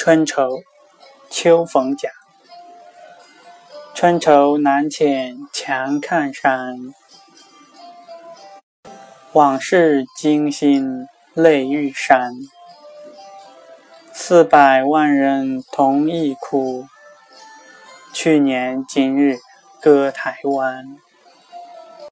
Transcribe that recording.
春愁，秋逢甲。春愁南浅强看山，往事惊心泪欲潸。400万人同一哭，去年今日歌台湾。